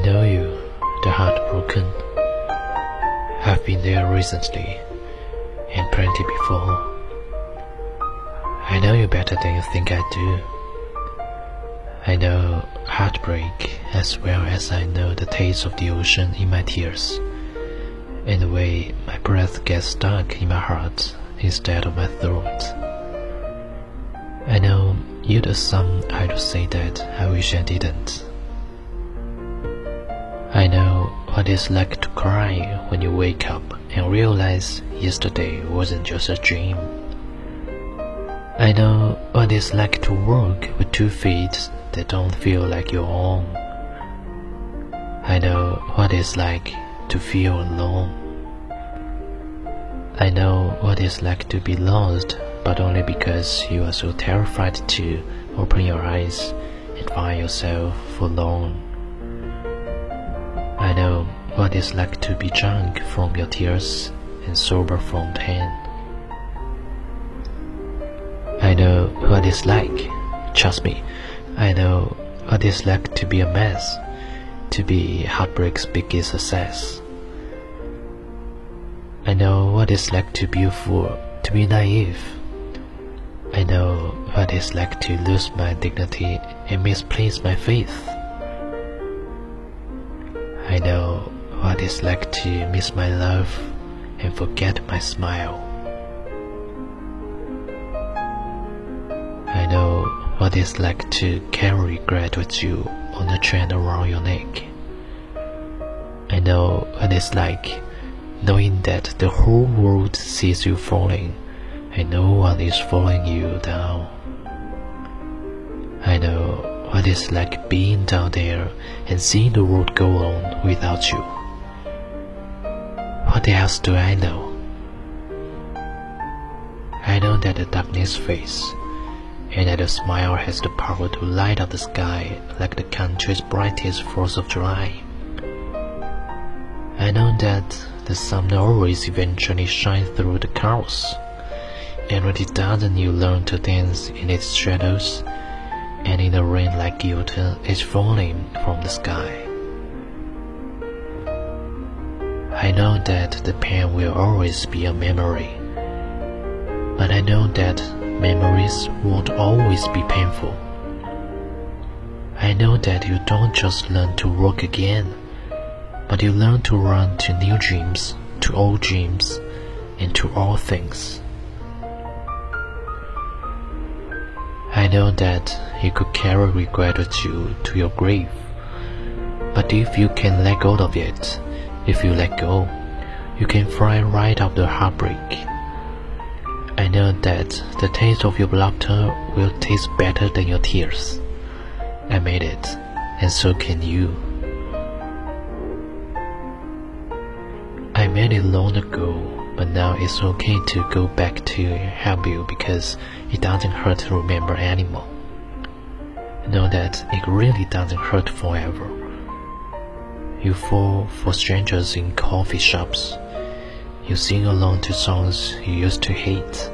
know you, the heartbroken. I've been there recently, and plenty before. I know you better than you think I do. I know heartbreak as well as I know the taste of the ocean in my tears, and the way my breath gets stuck in my heart instead of my throat. I know you're the some I'd say that I wish I didn't. I know what it's like to cry when you wake up and realize yesterday wasn't just a dream. I know what it's like to walk with 2 feet that don't feel like your own. I know what it's like to feel alone. I know what it's like to be lost, but only because you are so terrified to open your eyes and find yourself alone. I know what it's like to be drunk from your tears and sober from pain. I know what it's like, trust me, I know what it's like to be a mess, to be heartbreak's biggest success. I know what it's like to be a fool, to be naive. I know what it's like to lose my dignity and misplace my faith. I know what it's like to miss my love and forget my smile. I know what it's like to carry regret with you on a chain around your neck. I know what it's like knowing that the whole world sees you falling and no one is following you down. I know what it's like being down there and seeing the world go on without you. What else do I know? I know that the darkness fades, and that a smile has the power to light up the sky like the country's brightest 4th of July. I know that the sun always eventually shines through the clouds, and when it doesn't, you learn to dance in its shadows, and in the rain like guilt is falling from the sky. I know that the pain will always be a memory, but I know that memories won't always be painful. I know that you don't just learn to walk again, but you learn to run to new dreams, to old dreams, and to all things. I know that you could carry regret with you to your grave, but if you can let go of it, if you let go, you can fly right up the heartbreak. I know that the taste of your laughter will taste better than your tears. I made it, and so can you. I made it long ago, but now it's okay to go back to help you because it doesn't hurt to remember anymore. Know that it really doesn't hurt forever. You fall for strangers in coffee shops. You sing along to songs you used to hate.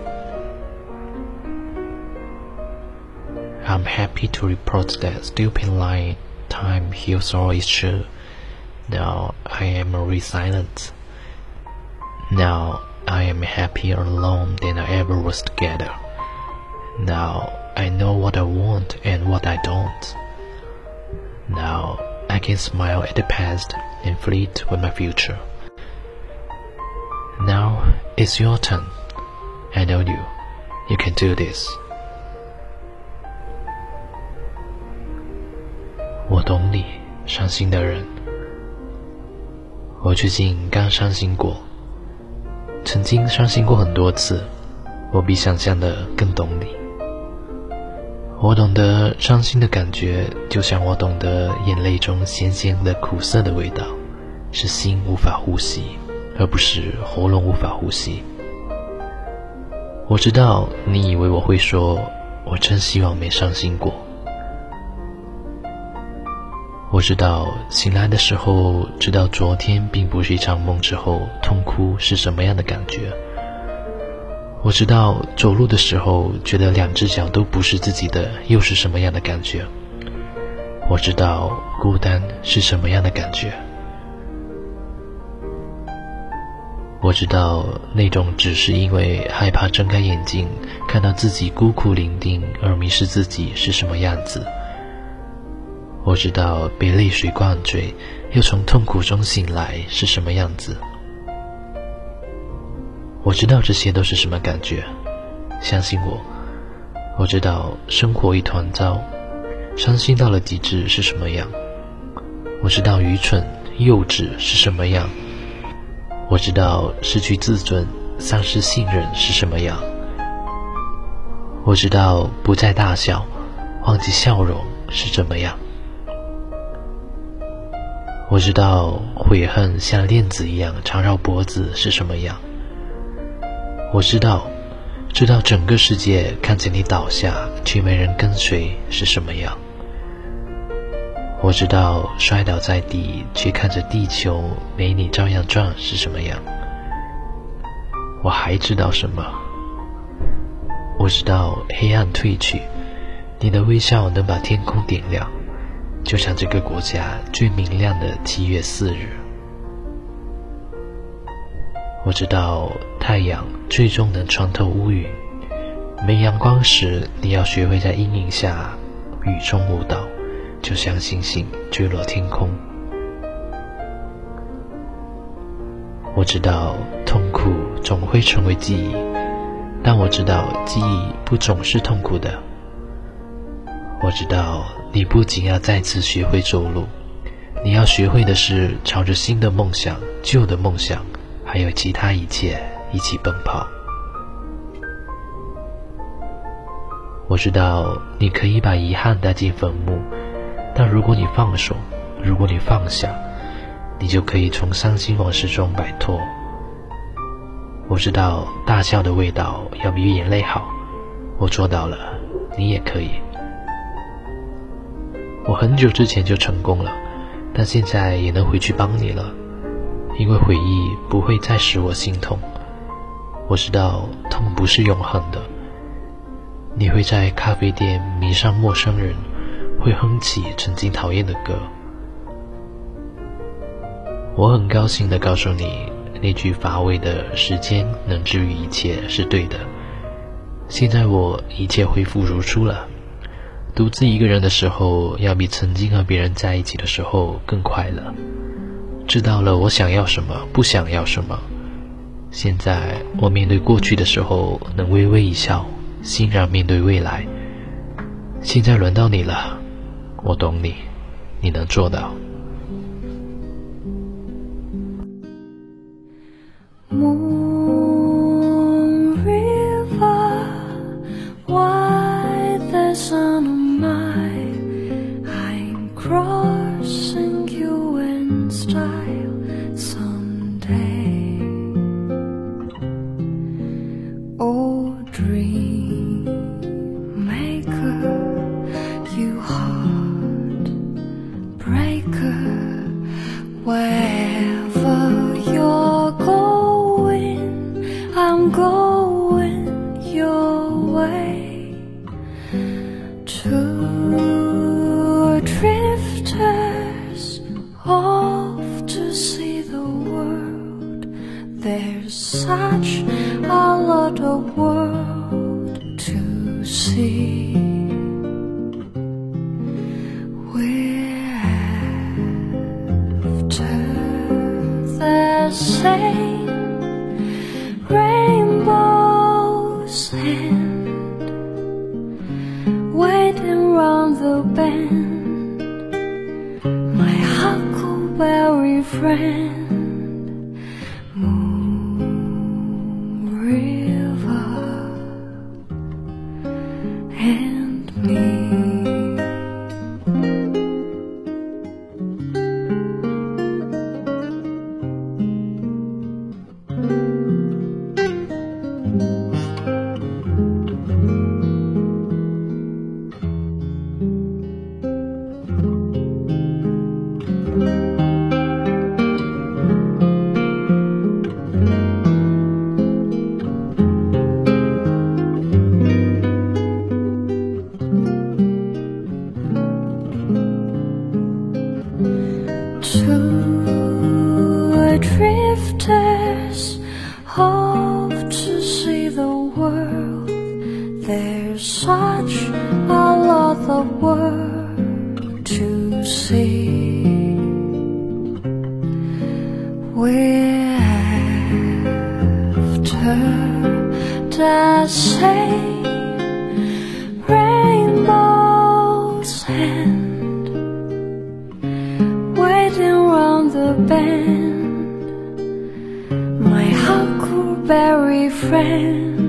I'm happy to report that stupid line, time heals all is true. Now I am resilient. Now I am happier alone than I ever was together. Now I know what I want and what I don't. Now I can smile at the past and fleet with my future. Now it's your turn. I know you. You can do this. 我懂你，伤心的人。我最近刚伤心过，曾经伤心过很多次，我比想象的更懂你。我懂得伤心的感觉，就像我懂得眼泪中咸咸的苦涩的味道，是心无法呼吸，而不是喉咙无法呼吸。我知道你以为我会说，我真希望没伤心过。我知道醒来的时候，知道昨天并不是一场梦之后，痛哭是什么样的感觉。我知道走路的时候，觉得2只脚都不是自己的，又是什么样的感觉。 我知道孤单是什么样的感觉。我知道那种只是因为害怕睁开眼睛看到自己孤苦伶仃而迷失自己是什么样子。我知道被泪水灌醉又从痛苦中醒来是什么样子。我知道这些都是什么感觉，相信我。我知道生活一团糟，伤心到了极致是什么样。我知道愚蠢幼稚是什么样。我知道失去自尊丧失信任是什么样。我知道不再大笑忘记笑容是怎么样。我知道悔恨像链子一样缠绕脖子是什么样。我知道整个世界看着你倒下却没人跟随是什么样。我知道摔倒在地却看着地球没你照样转是什么样。我还知道什么？我知道黑暗褪去，你的微笑能把天空点亮，就像这个国家最明亮的7月4日。我知道太阳最终能穿透乌云，没阳光时你要学会在阴影下雨中舞蹈，就像星星坠落天空。我知道痛苦总会成为记忆，但我知道记忆不总是痛苦的。我知道你不仅要再次学会走路，你要学会的是朝着新的梦想、旧的梦想还有其他一切一起奔跑。我知道你可以把遗憾带进坟墓，但如果你放手，如果你放下，你就可以从伤心往事中摆脱。我知道大笑的味道要比眼泪好，我做到了，你也可以。我很久之前就成功了，但现在也能回去帮你了，因为回忆不会再使我心痛。我知道痛不是永恒的，你会在咖啡店迷上陌生人，会哼起曾经讨厌的歌。我很高兴地告诉你，那句乏味的时间能治愈一切是对的。现在我一切恢复如初了，独自一个人的时候要比曾经和别人在一起的时候更快乐，知道了我想要什么不想要什么。现在我面对过去的时候能微微一笑，欣然面对未来。现在轮到你了，我懂你，你能做到。 Moon River, why the sun on my, I'm crossing you in style someday. Oh, dream maker, you heart breaker, wherever you're going, I'm going your way. Two drifters off to see the world. There's such a lot of world to see. We're after the same rainbow's end, waiting round the bend, my huckleberry friend. Moon River and me. the world to see. We're after the same rainbow's end, waiting round the bend, my huckleberry friend.